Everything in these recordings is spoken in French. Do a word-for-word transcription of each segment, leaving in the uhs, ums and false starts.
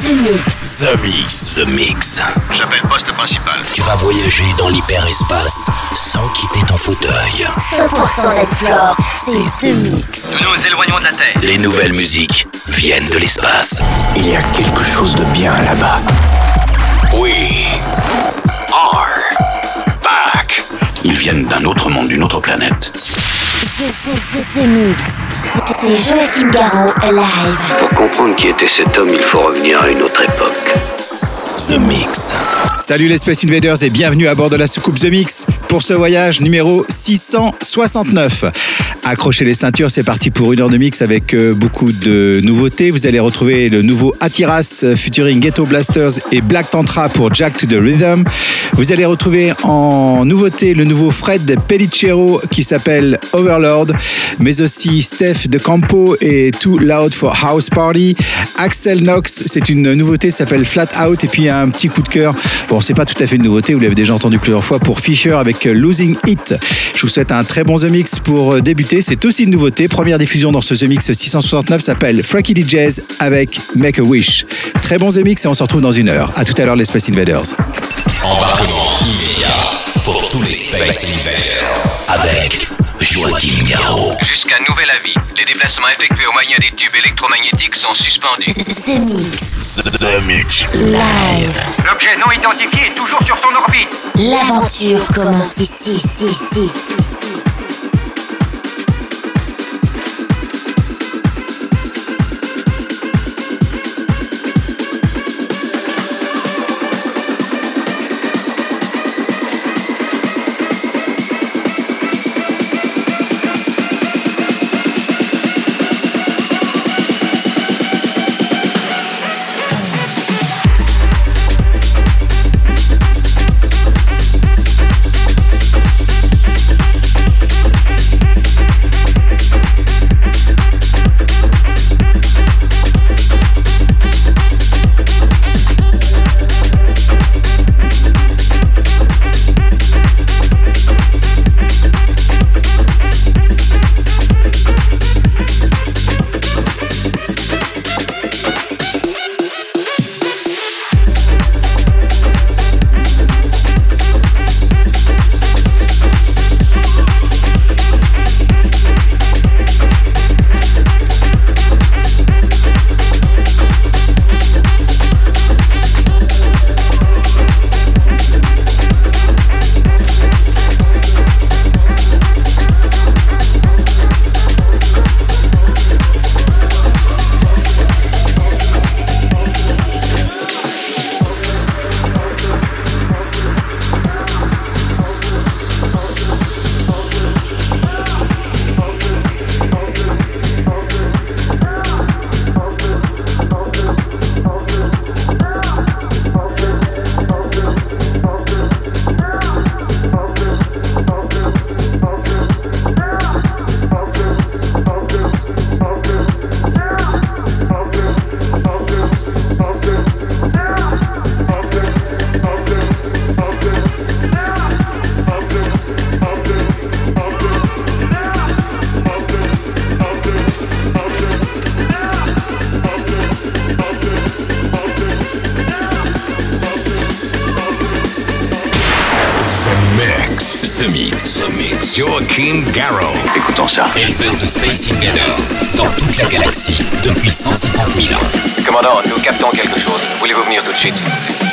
The Mix. The Mix. The Mix. J'appelle poste principal. Tu vas voyager dans l'hyperespace sans quitter ton fauteuil. cent pour cent d'Explore, c'est The Mix. Nous nous éloignons de la Terre. Les nouvelles musiques viennent de l'espace. Il y a quelque chose de bien là-bas. We are back. Ils viennent d'un autre monde, d'une autre planète. The, the, the, the Mix. C'est Joachim Garraud live. Pour comprendre qui était cet homme, il faut revenir à une autre époque. The Mix. Salut les Space Invaders et bienvenue à bord de la soucoupe The Mix pour ce voyage numéro six cent soixante-neuf. Accrochez les ceintures, c'est parti pour une heure de mix avec euh, beaucoup de nouveautés. Vous allez retrouver le nouveau Atiras euh, featuring Ghetto Blasters et Black Tantra pour Jack to the Rhythm. Vous allez retrouver en nouveauté le nouveau Fred Pellicero qui s'appelle Overlord, mais aussi Steph de Campo et Too Loud for House Party. Axel Knox, c'est une nouveauté, s'appelle Flat Out, et puis un petit coup de cœur. Bon, c'est pas tout à fait une nouveauté, vous l'avez déjà entendu plusieurs fois, pour Fisher avec Losing It. Je vous souhaite un très bon The Mix pour débuter. C'est aussi une nouveauté. Première diffusion dans ce The Mix six cent soixante-neuf s'appelle Frankie D J's avec Make a Wish. Très bon The Mix et on se retrouve dans une heure. À tout à l'heure les Space Invaders. Embarquement immédiat pour tous les Space Invaders avec Joachim Garraud. Jusqu'à nouvel avis, les déplacements effectués au moyen des tubes électromagnétiques sont suspendus. The Mix. The Mix. Live. L'objet non identifié est toujours sur son orbite. L'aventure commence ici, ici, ici, ici, ici. Joachim Garraud. Écoutons ça. Éleveur de Space Invaders dans toute la galaxie depuis cent cinquante mille ans. Commandant, nous captons quelque chose. Voulez-vous venir tout de suite, s'il vous plaît?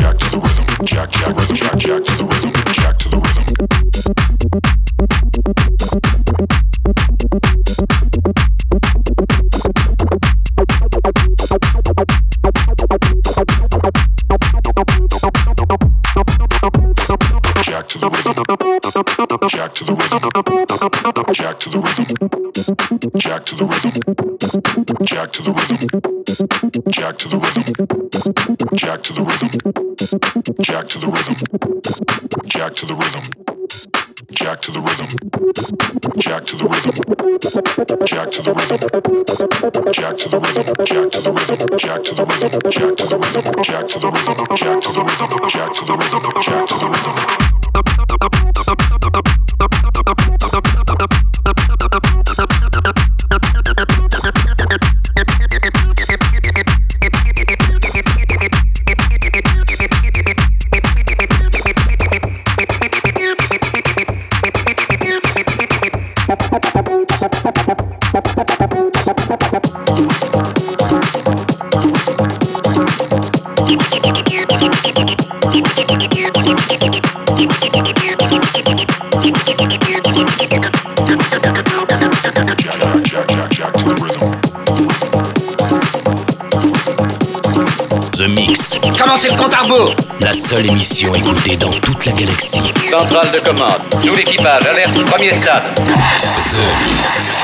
jack to the rhythm, jack, jack, rhythm, jack, jack to the rhythm, jack to the rhythm. Jack to the rhythm, jack to the rhythm, jack to the rhythm, jack to the rhythm, jack to the rhythm, jack to the rhythm, jack to the rhythm, jack to the rhythm, jack to the rhythm, jack to the rhythm, jack to the rhythm, jack to the rhythm, jack to the rhythm, jack to the rhythm, jack to the rhythm, jack to the rhythm, jack to the rhythm, jack to the rhythm, jack to the rhythm, jack to the rhythm. The Mix. Commencez le compte à rebours. La seule émission écoutée dans toute la galaxie. Centrale de commande. Tout l'équipage, alerte, premier stade. The Mix.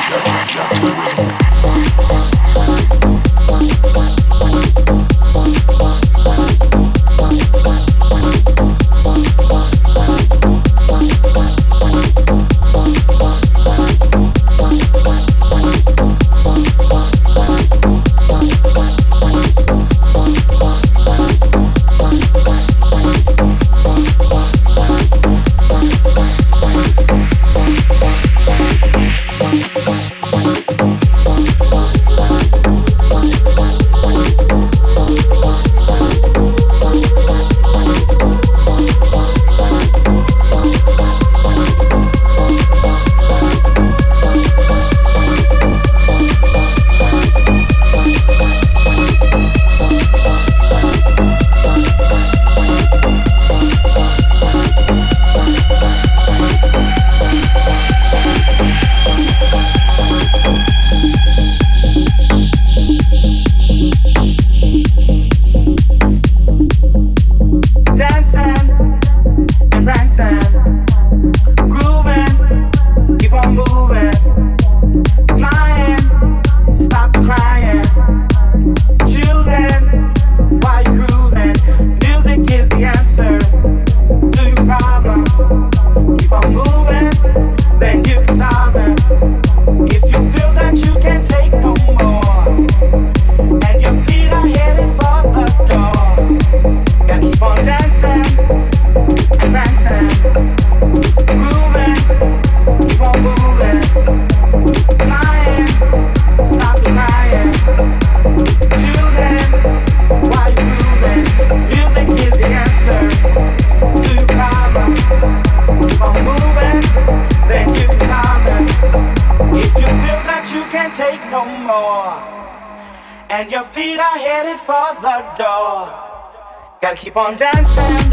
Gotta keep on dancing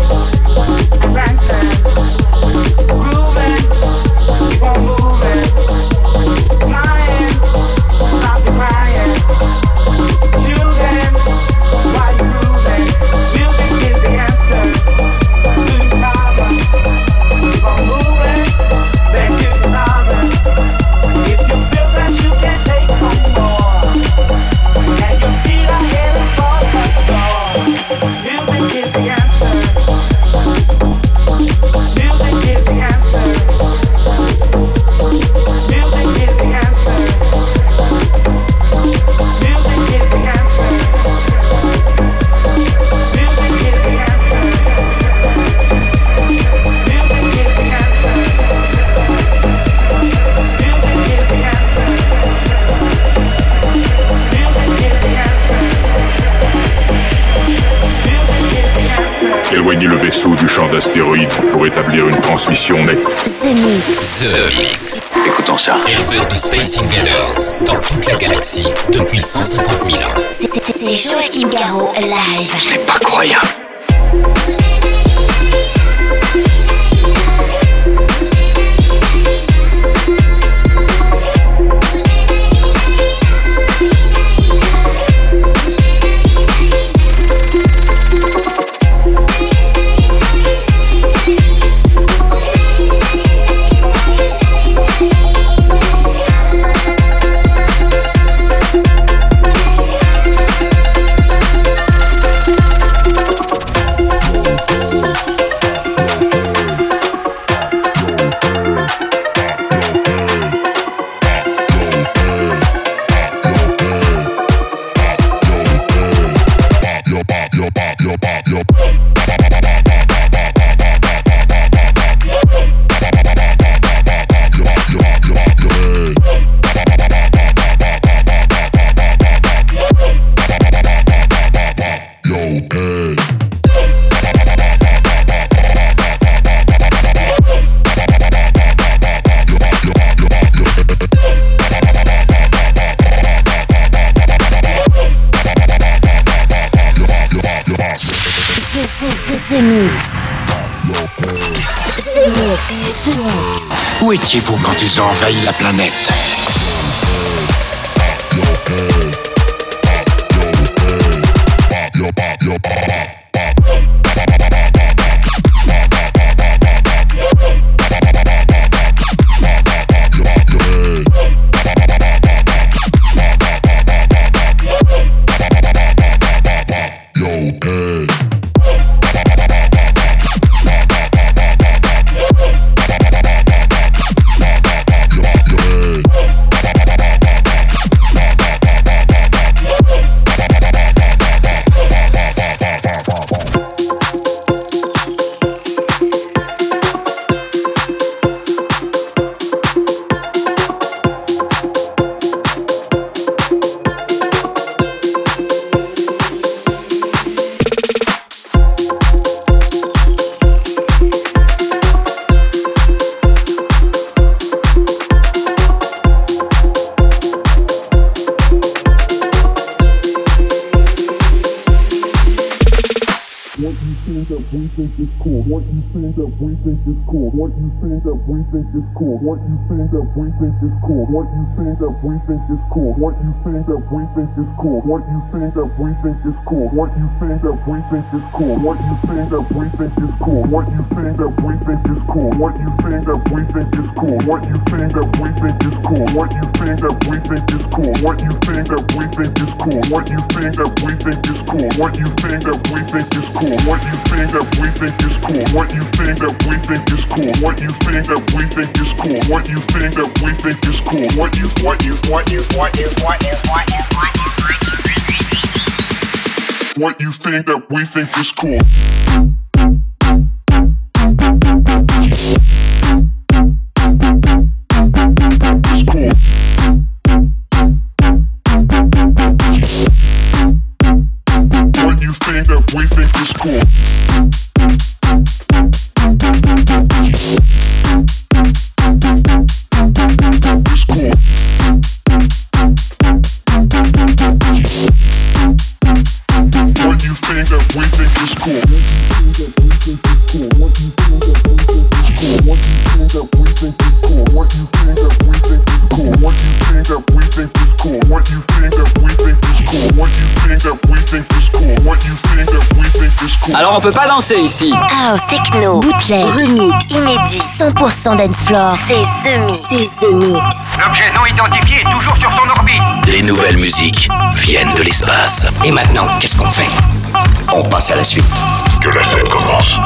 and dancing, grooving, keep on moving, flying, stop the crying, shooting while you're grooving. Music is the answer to your problem. Keep on moving, then you can solve it. If you feel that you can't take no more, and your feet are headed for the door. Music is the answer. Music is the answer. Music is the answer. Music is the answer. Music is the answer. Music is the answer. Music is the answer. Music is the answer. Éloignez le vaisseau du champ d'astéroïdes pour établir une transmission nette. The Mix. The Mix. Écoutons ça. Éleveur de Space Invaders dans toute la galaxie depuis cent cinquante mille ans. C'est Joachim Garraud live. C'est pas croyable. The Mix. The Mix. The Mix. Où étiez-vous quand ils ont envahi la planète? What you think that we think is cool. What you think that we think is cool. What you think that we think is cool. What you think that we think is cool. What you think that we think is cool. What you think that we think is cool. What you think that we think is cool. What you think that we think is cool. What you think that we think is cool. What you think that we think is cool. What you think that we think is cool. What you think that we think is cool. What you think that we think is cool. What you think that we think is cool. What you think that we think is cool. What you think that we think is cool. What you think that we think is cool. What you think that we think is cool. What you what you what you what you what you what you what you what you think that we think is cool. Alors on peut pas danser ici. House, techno, bootleg, remix, inédit, cent pour cent dance floor. C'est The Mix. C'est The Mix. L'objet non identifié est toujours sur son orbite. Les nouvelles musiques viennent de l'espace. Et maintenant, qu'est-ce qu'on fait? On passe à la suite. Que la fête commence.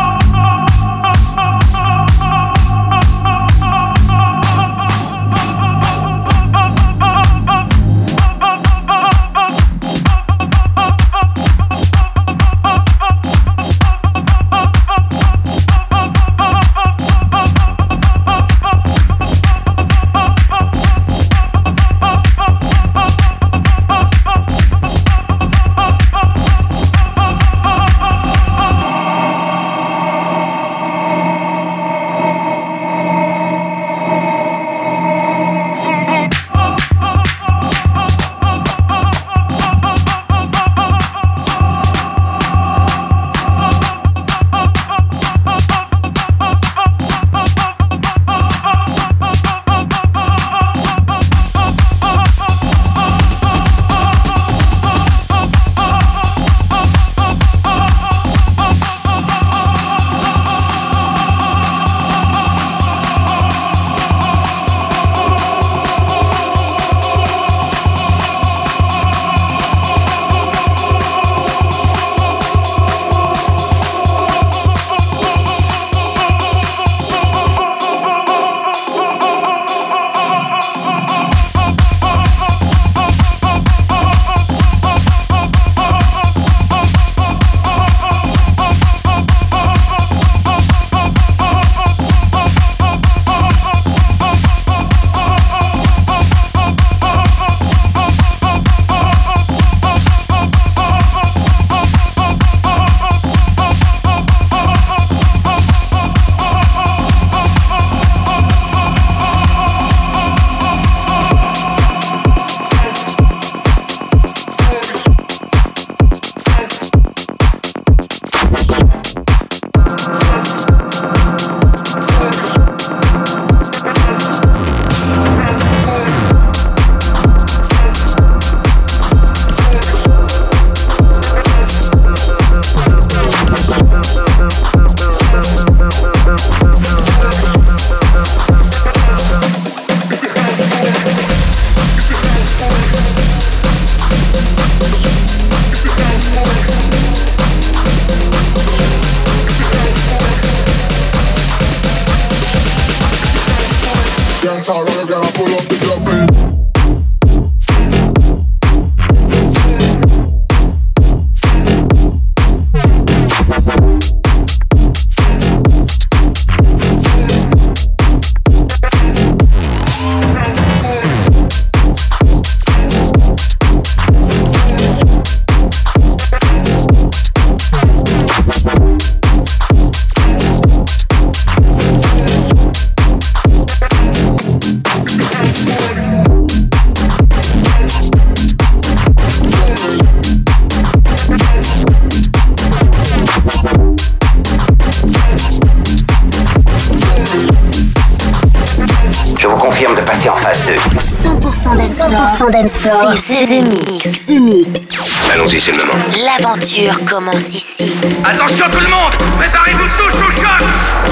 cent pour cent dance floor, c'est The Mix. The Mix. Allons-y, c'est le moment. L'aventure commence ici. Attention tout le monde, préparez-vous sous sous choc.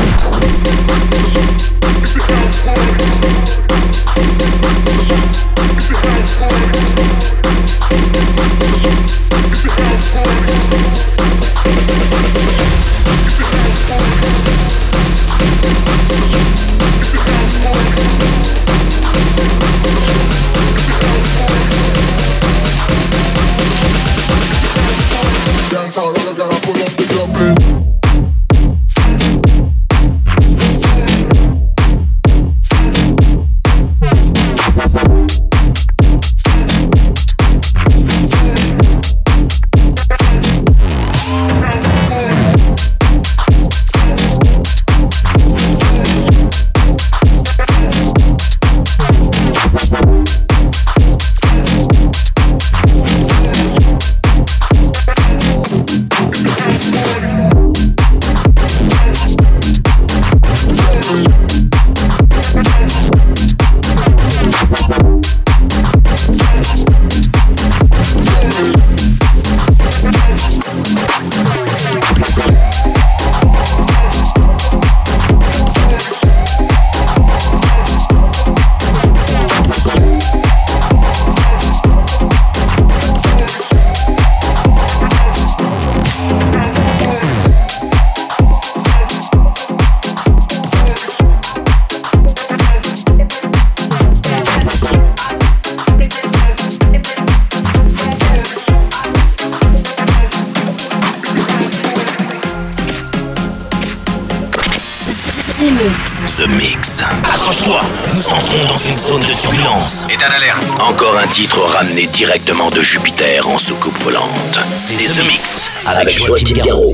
The Mix. The Mix. Accroche-toi, nous entrons dans une zone de turbulence. État d'alerte. Encore un titre ramené directement de Jupiter en soucoupe volante. C'est The Mix avec Joachim Garraud.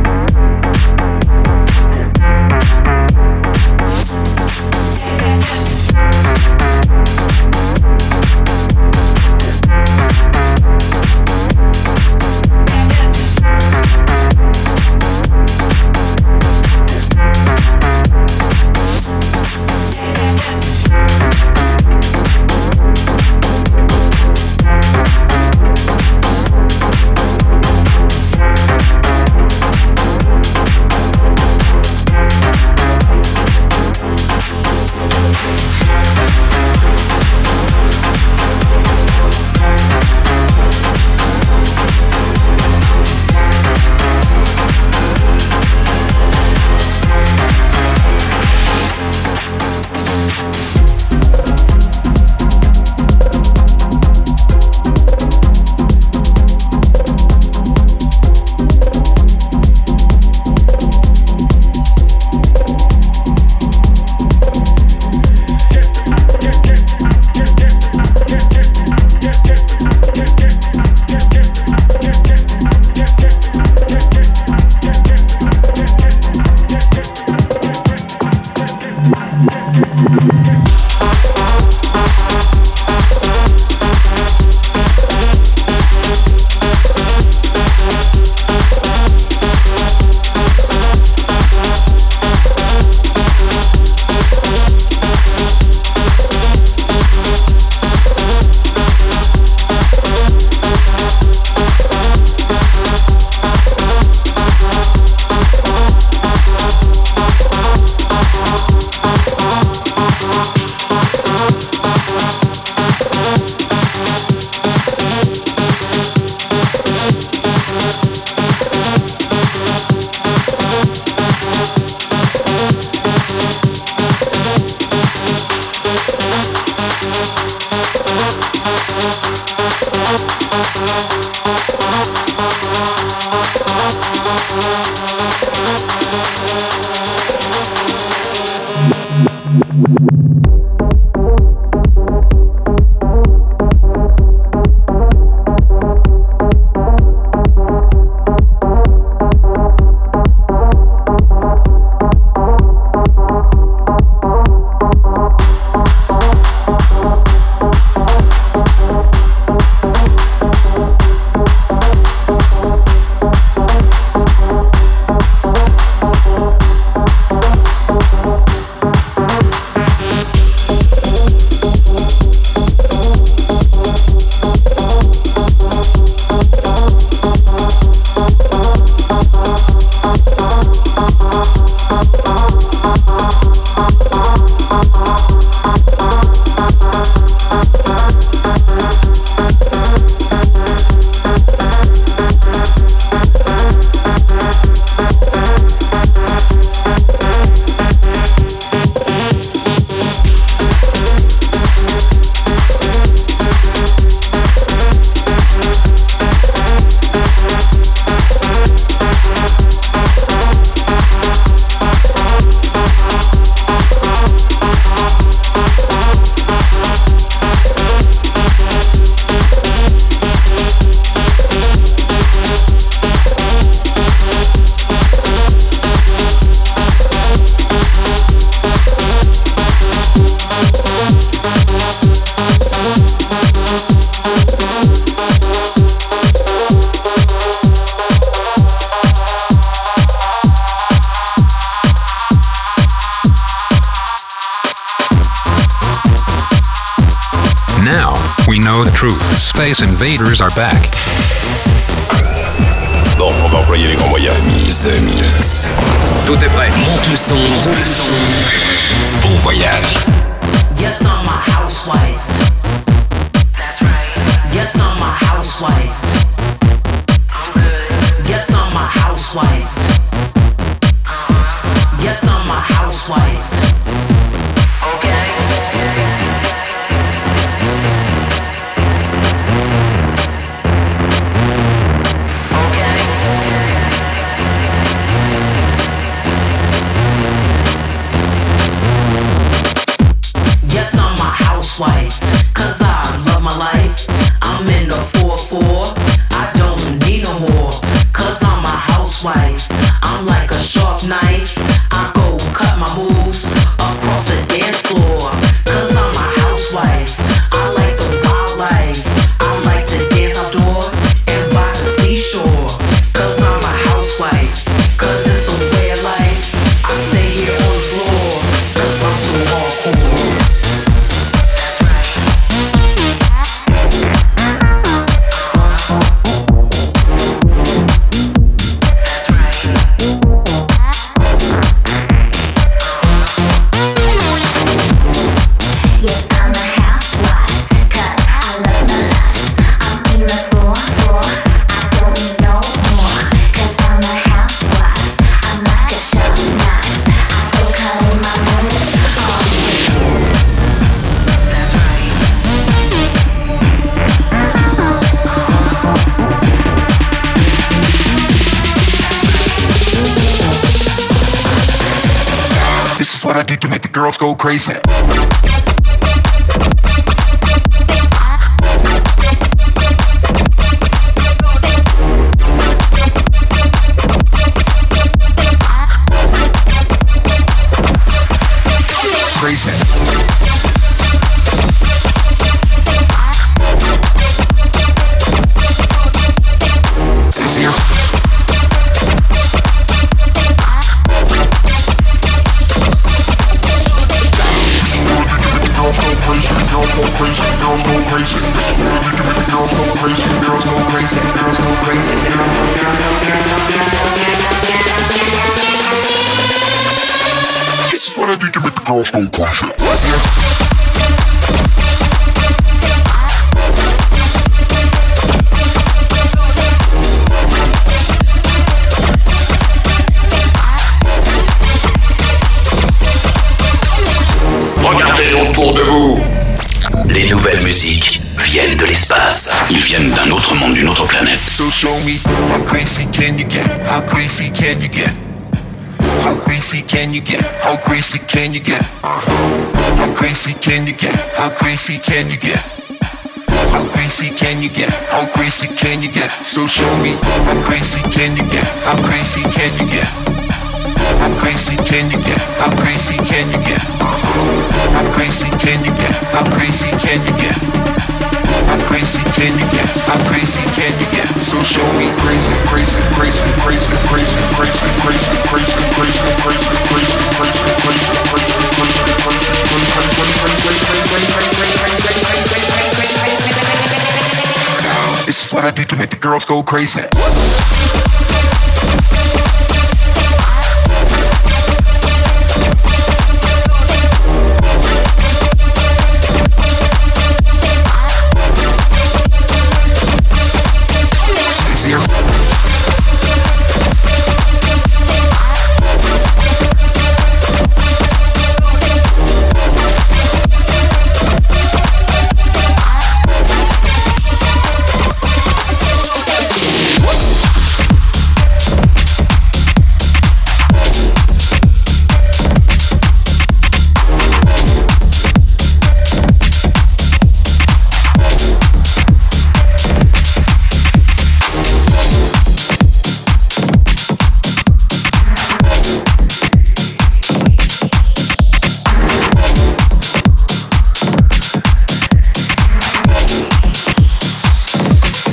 Yeah. Now, we know the truth. Space Invaders are back. Bon, on va employer les grands moyens. The Mix. Tout est prêt. Monte le son, roule le son. Bon voyage. Yes, I'm a housewife. That's right. Yes, I'm a housewife. I'm good. Yes, I'm a housewife. Uh-huh. Yes, I'm a housewife. Okay. Yes, I'm a housewife, cause I love my life. I'm in the four four, I don't need no more. Cause I'm a housewife, I'm like a sharp knife. I go cut my moves across the dance floor. Cause I'm a housewife, I like the wildlife. I like to dance outdoor and by the seashore. Cause I'm a housewife, cause it's a way of life. I stay here on the floor, cause I'm so hardcore. What I do to make the girls go crazy. Crazy. Is here. Girls go crazy, girls go crazy, girls go crazy. This is what I do to make the girls go crazy, girls go crazy, girls go crazy, girls go crazy. This is what I do to make the girls go crazy. Regardez autour de vous. Les nouvelles musiques viennent de l'espace. Ils viennent d'un autre monde, d'une autre planète. So show me how crazy can you get? How crazy can you get? How crazy can you get? How crazy can you get? Uh-huh. How crazy can you get? How crazy can you get? How crazy can you get? How crazy can you get? So show me how crazy can you get? How crazy can you get? How crazy can you get? How crazy can you get? Uh-huh. How crazy can you get? How crazy can you get? How crazy can you get? How crazy can you get? So show me crazy, crazy, crazy, crazy, crazy, crazy, crazy, crazy, crazy, crazy, crazy, crazy, crazy, this is what I do to make the girls go crazy.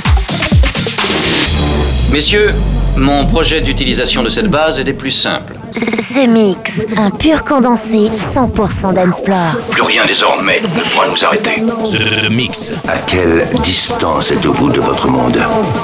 Messieurs, mon projet d'utilisation de cette base est des plus simples. The Mix, un pur condensé cent pour cent dance floor. Plus rien désormais ne pourra nous arrêter. The Mix. À quelle distance êtes-vous de votre monde?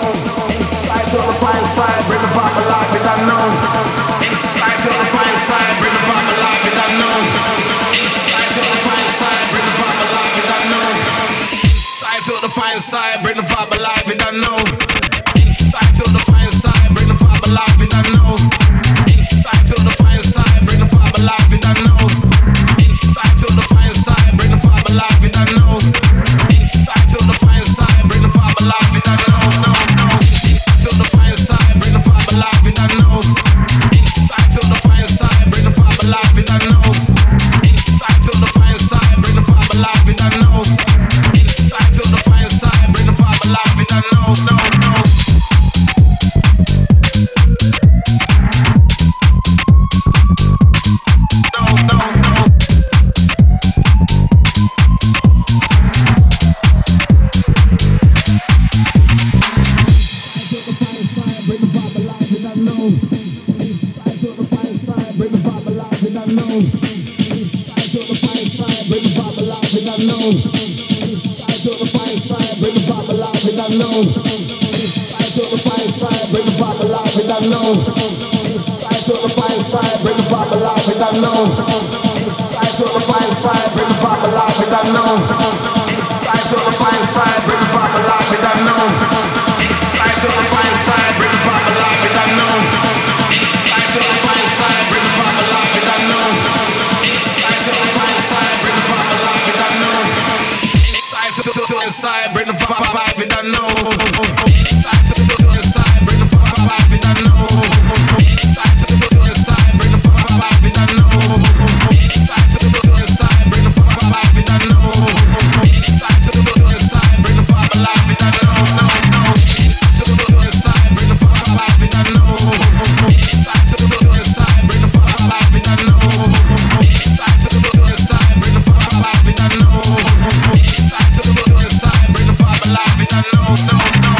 Feel the fire inside, bring the vibe alive, it I know. Inside, feel the fire inside, bring the vibe alive, it I know. Inside, feel the fire inside, bring the vibe alive, it I know. Inside, feel the fire inside, bring the vibe alive, it I know. Inside, feel the fire inside, bring the vibe alive, it I know. No, no. Feel the fire inside, bring the vibe alive, it I know. Inside, feel the fire inside, bring the vibe alive, it I know. Inside, feel the fire inside, bring the vibe alive, it I know. Inside, feel the fire inside, bring the vibe alive, it I know, no, no. Inside, bring the vibe, it I know. Inside, feel inside, bring the vibe, it I know. Inside, feel inside, bring the vibe, it I know. Inside, feel inside, bring the vibe, it I know. Inside, feel inside, bring the vibe alive, it I know. No, no. Feel inside, bring the vibe, it I know. Inside, feel inside, bring the vibe alive, it I know. Inside, feel inside, bring the vibe, it I know. Inside, feel inside, bring the vibe alive, it I know. No, no.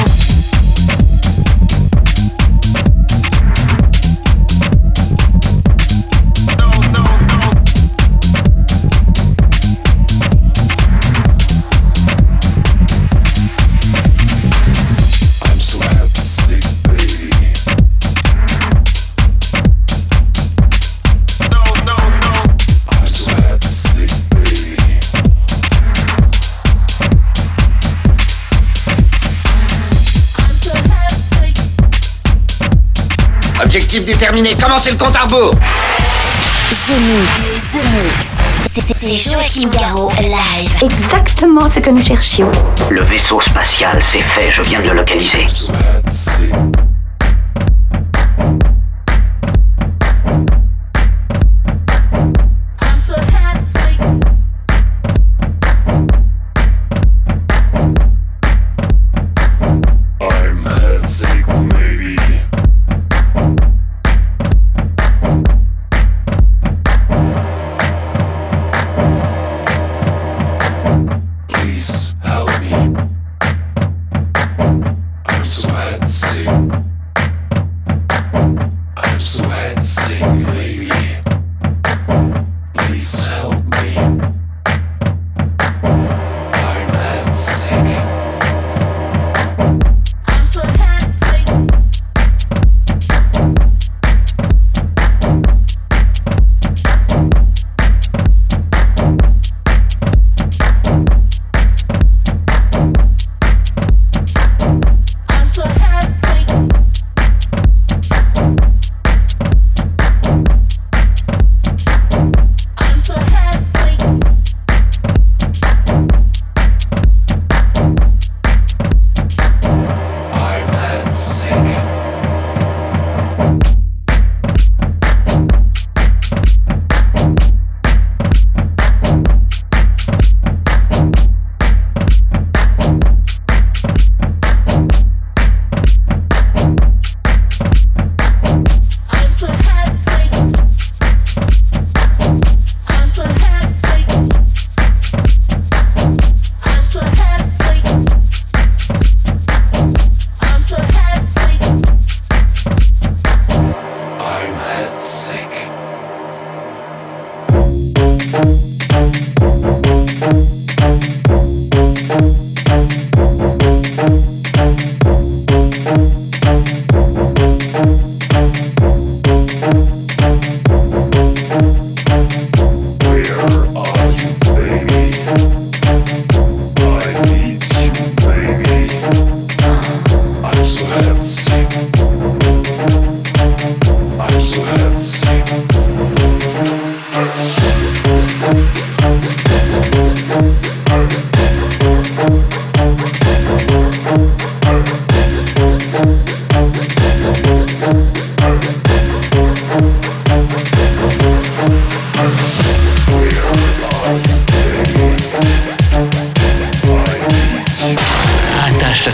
Objectif déterminé, commencez le compte à rebours. The Mix, The Mix, c'est- c'est Joachim Garraud live. Exactement ce que nous cherchions. Le vaisseau spatial, c'est fait, je viens de le localiser. Please help me. I'm so head sick.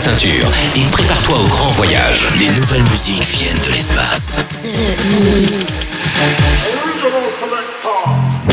ceinture et prépare-toi au grand voyage. Les nouvelles musiques viennent de l'espace. Original Selector.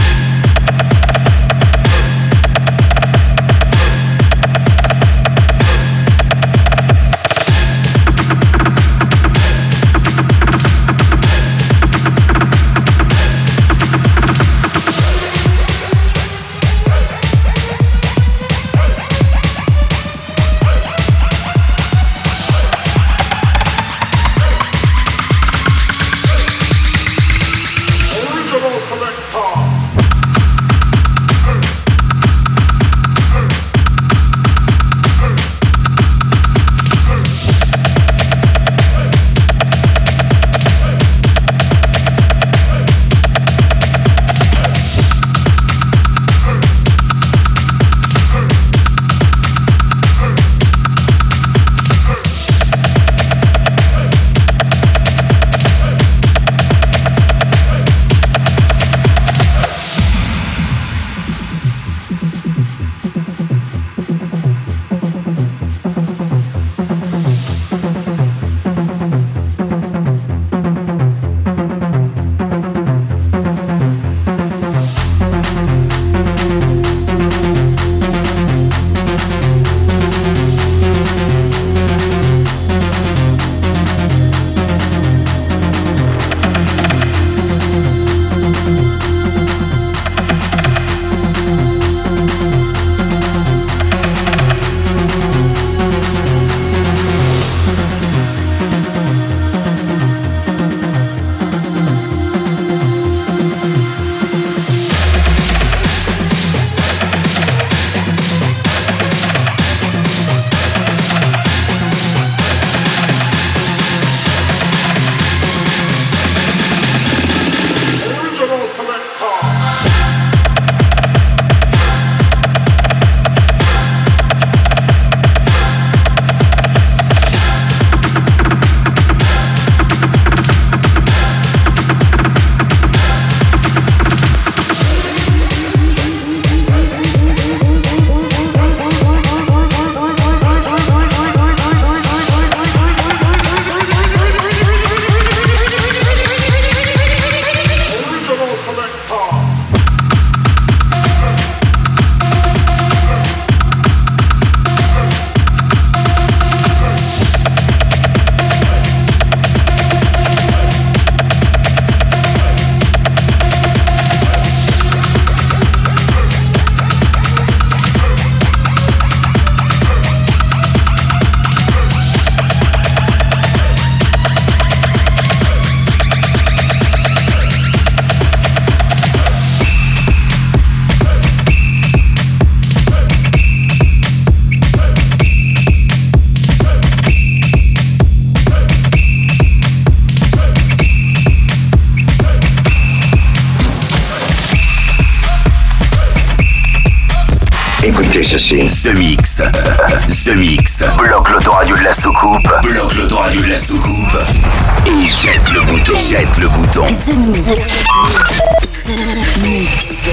Écoutez ceci. The Mix. The Mix. Bloque l'autoradio de la soucoupe. Bloque l'autoradio de la soucoupe. Et jette le bouton. Jette le bouton. The Mix. The Mix.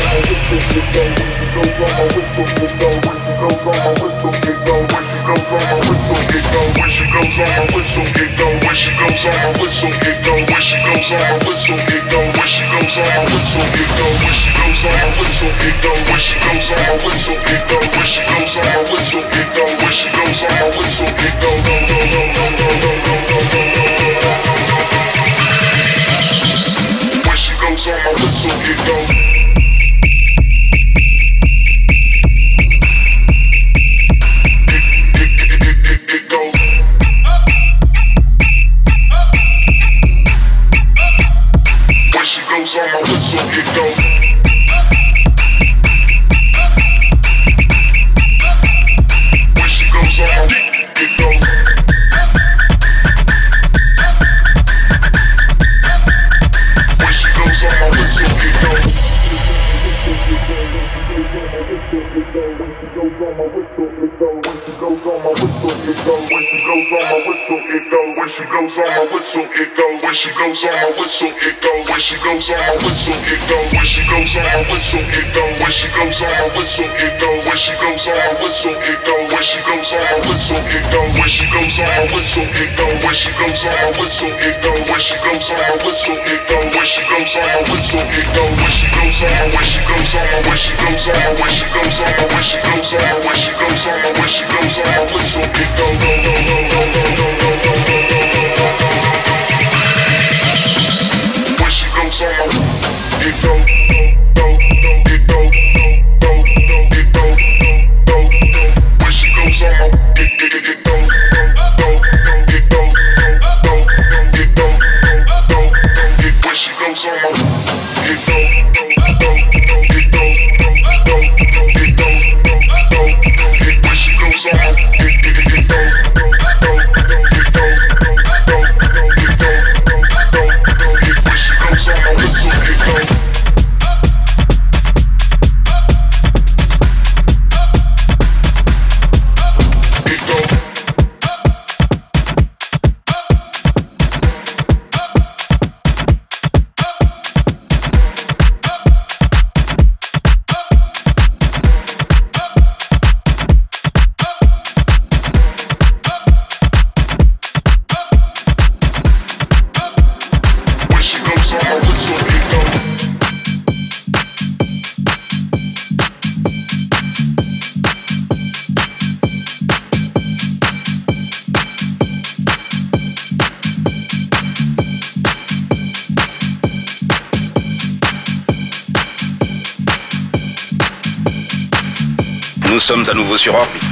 Nous sommes à nouveau sur orbite.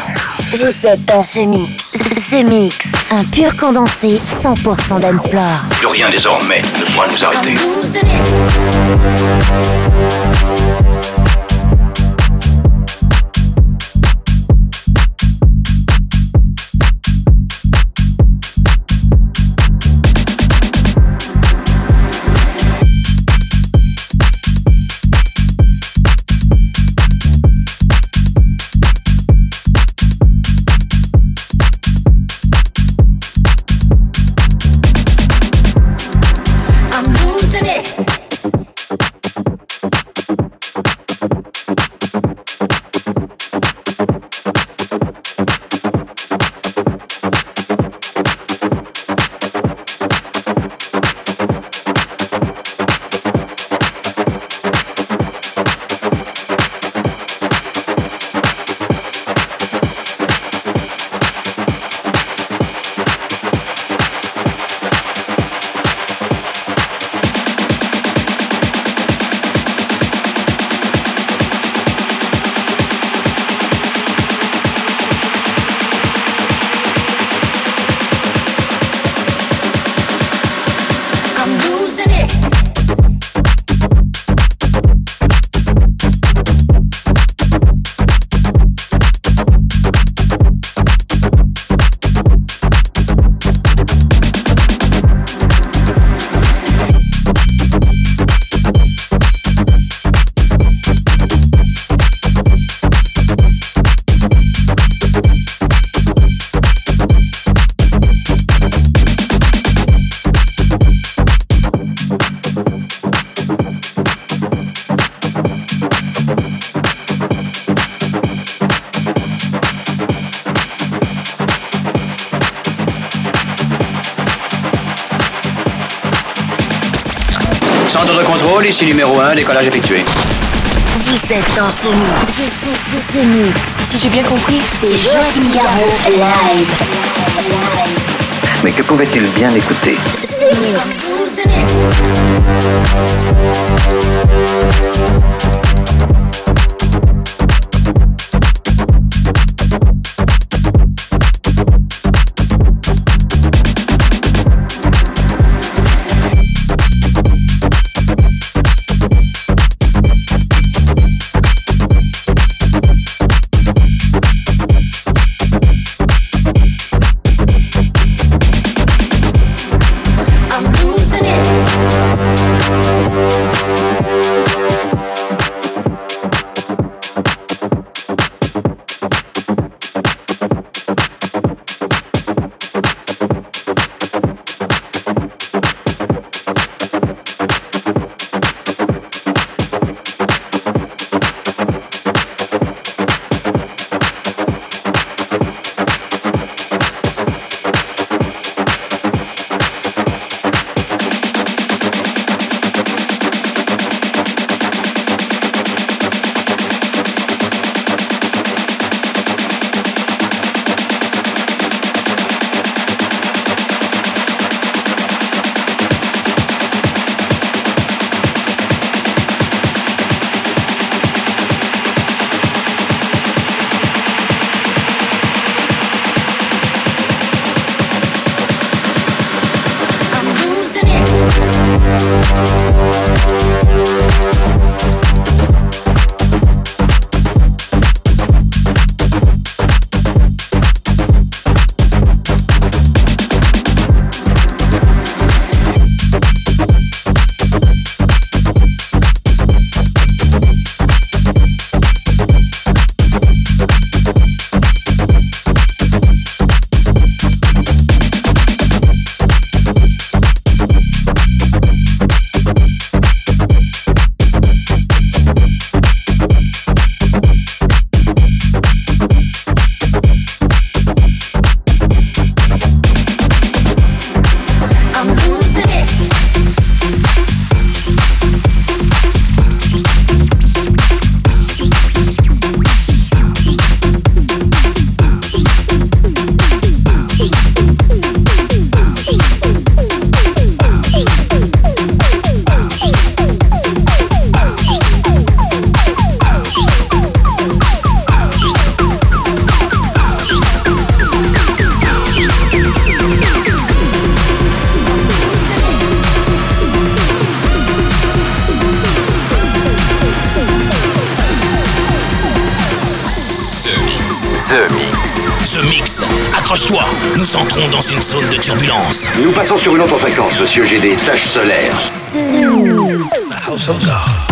Vous êtes dans ce mix. Ce mix, un pur condensé cent pour cent dancefloor. Plus rien désormais ne pourra nous arrêter. Centre de contrôle, ici numéro un, décollage effectué. Vous êtes dans ce mix. Ce, ce, ce, ce mix. Si j'ai bien compris, c'est Joachim Garraud live. Mais que pouvait-il bien écouter? Ce mix. The Mix. The Mix, accroche-toi, nous entrons dans une zone de turbulence. Nous passons sur une autre fréquence, monsieur, j'ai des taches solaires. The Mix. The House of God.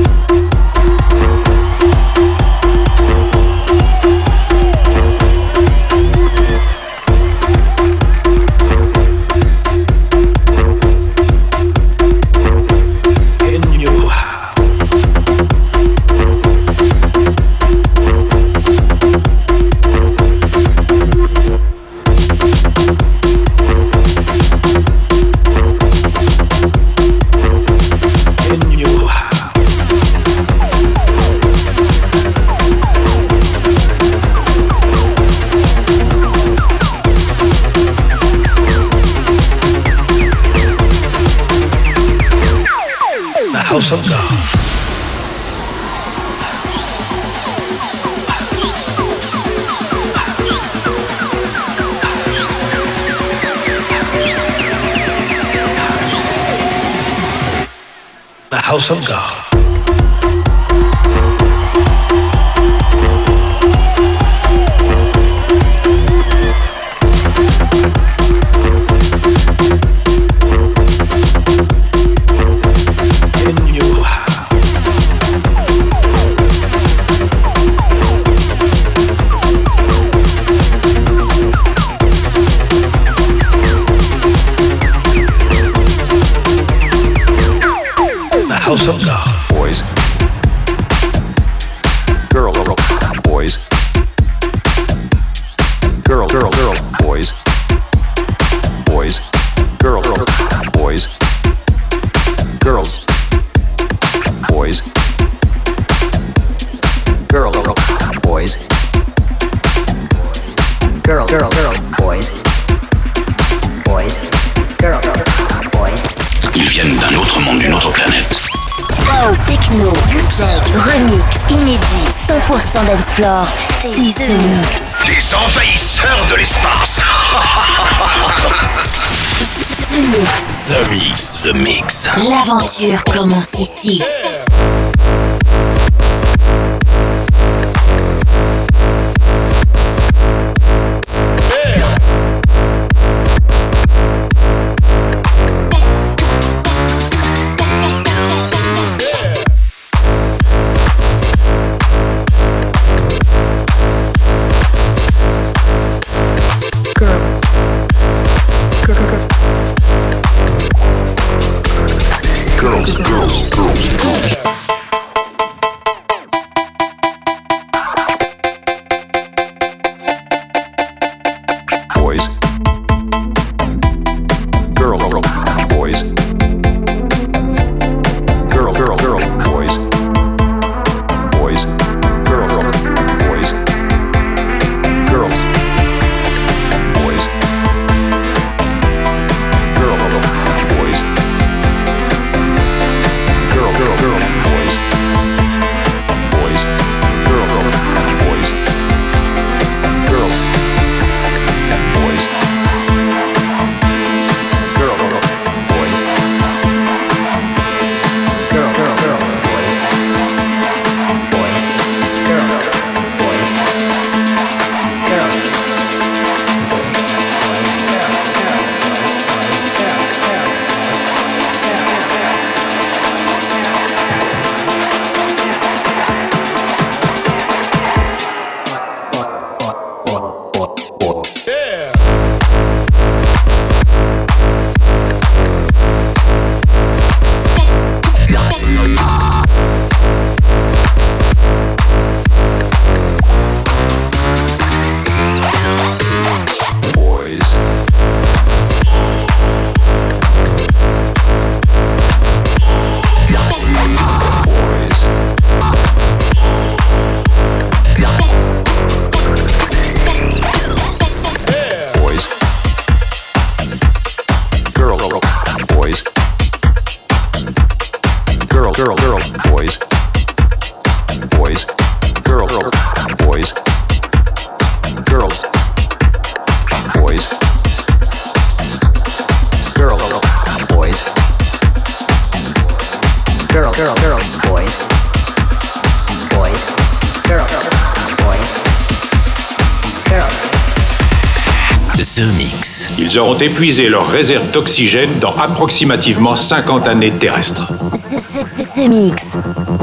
House of God. The House of God. House of God. Boys. Girl, girl, boys. Girl, girl, girl, boys. Boys. Girl, girl, boys. Girls. Boys. Girl, girl, boys. Girl, girl, girl, boys. Boys. Girl, girl, boys. Ils viennent d'un autre monde, d'une autre planète. House, techno, bootleg, remix, inédit, cent pour cent dance floor, c'est The Mix. Des envahisseurs de l'espace. The Mix. The Mix. The Mix. L'aventure commence ici. Girls, girls, girls, girls. The Mix. Ils auront épuisé leurs réserves d'oxygène dans approximativement cinquante années terrestres. The, the, the Mix.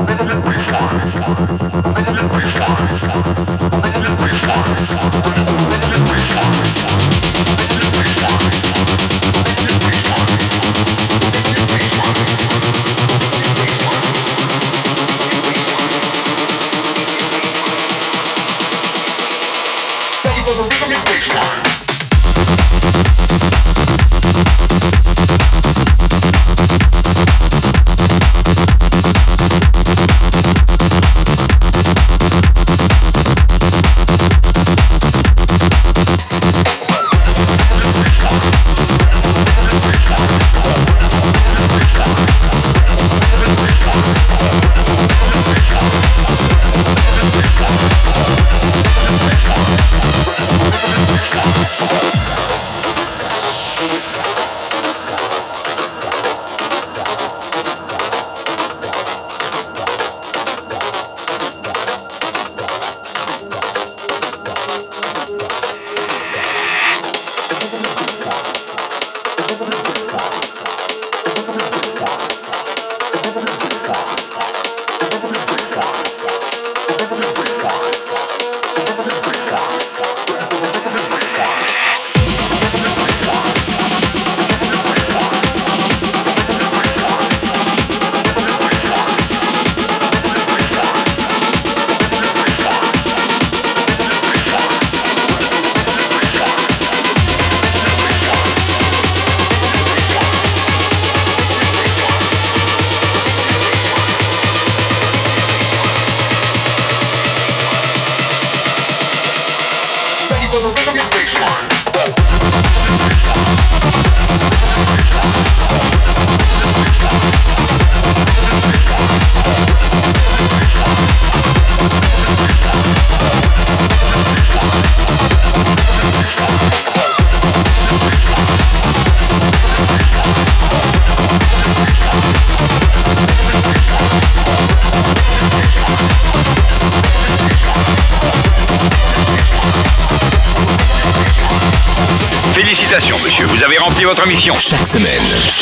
Félicitations, monsieur, vous avez rempli votre mission. Chaque semaine,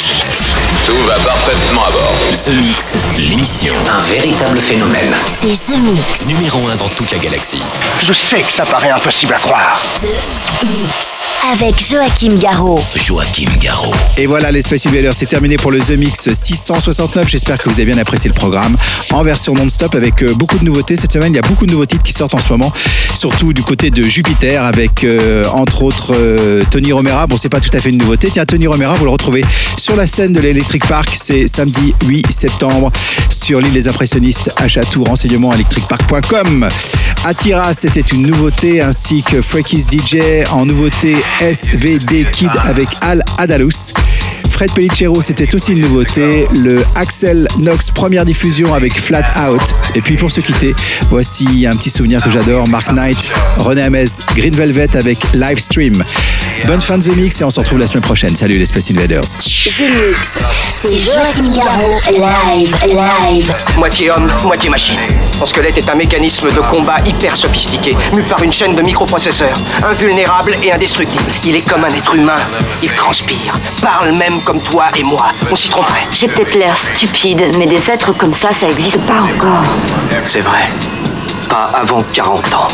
tout va parfaitement à bord. The Mix, l'émission. Un véritable phénomène. C'est The Mix. Numéro un dans toute la galaxie. Je sais que ça paraît impossible à croire. The Mix. Avec Joachim Garraud. Joachim Garraud. Et voilà, les Space Invaders, c'est terminé pour le The Mix six cent soixante-neuf. J'espère que vous avez bien apprécié le programme en version non-stop avec euh, beaucoup de nouveautés. Cette semaine, il y a beaucoup de nouveaux titres qui sortent en ce moment, surtout du côté de Jupiter avec euh, entre autres euh, Tony Romera. Bon, c'est pas tout à fait une nouveauté. Tiens, Tony Romera, vous le retrouvez sur la scène de l'Electric Park. C'est samedi huit septembre sur l'île des impressionnistes à Château. Renseignements electric park point com. Atira, c'était une nouveauté, ainsi que Freaky's D J en nouveauté. S V D Kid avec Al Adalous. Fred Pellicero, c'était aussi une nouveauté. Le Axel Knox première diffusion avec Flat Out. Et puis pour se quitter, voici un petit souvenir que j'adore. Mark Knight, René Amez, Green Velvet avec Livestream. Bonne fin de The Mix et on se retrouve la semaine prochaine. Salut les Space Invaders. The Mix, c'est Joachim Garraud, live, live. Moitié homme, moitié machine. Son squelette est un mécanisme de combat hyper sophistiqué, mu par une chaîne de microprocesseurs, invulnérable et indestructible. Il est comme un être humain, il transpire, parle même comme toi et moi. On s'y tromperait. J'ai peut-être l'air stupide, mais des êtres comme ça, ça existe pas encore. C'est vrai. Pas avant quarante ans.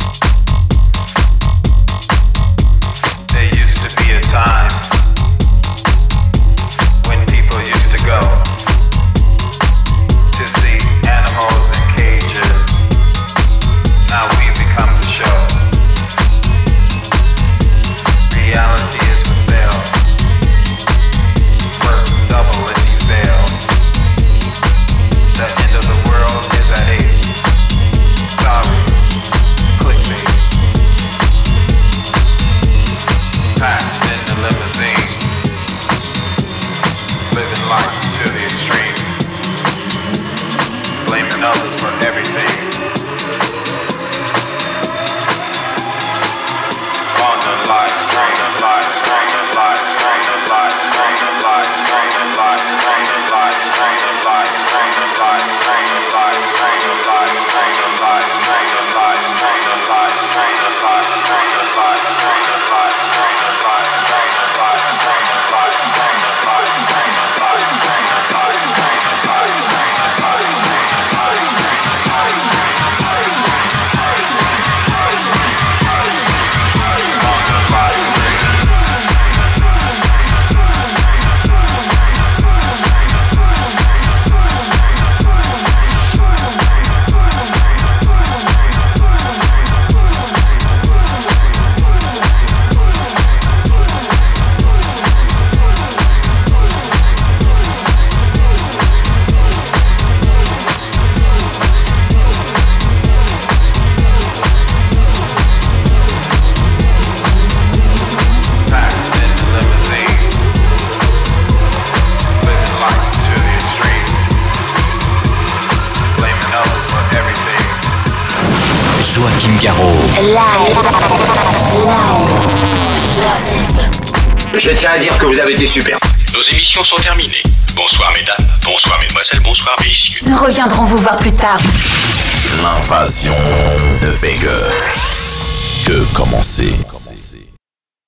There used to be a time when people used to go to see animals in cages. Now we become the show. Reality is for sale. Work double if you fail. The end of the world is at eight. Sorry. Caro. Live. Je tiens à dire que vous avez été super. Nos émissions sont terminées. Bonsoir mesdames, bonsoir mesdemoiselles, bonsoir messieurs. Nous reviendrons vous voir plus tard. L'invasion de Vega. Que commencer.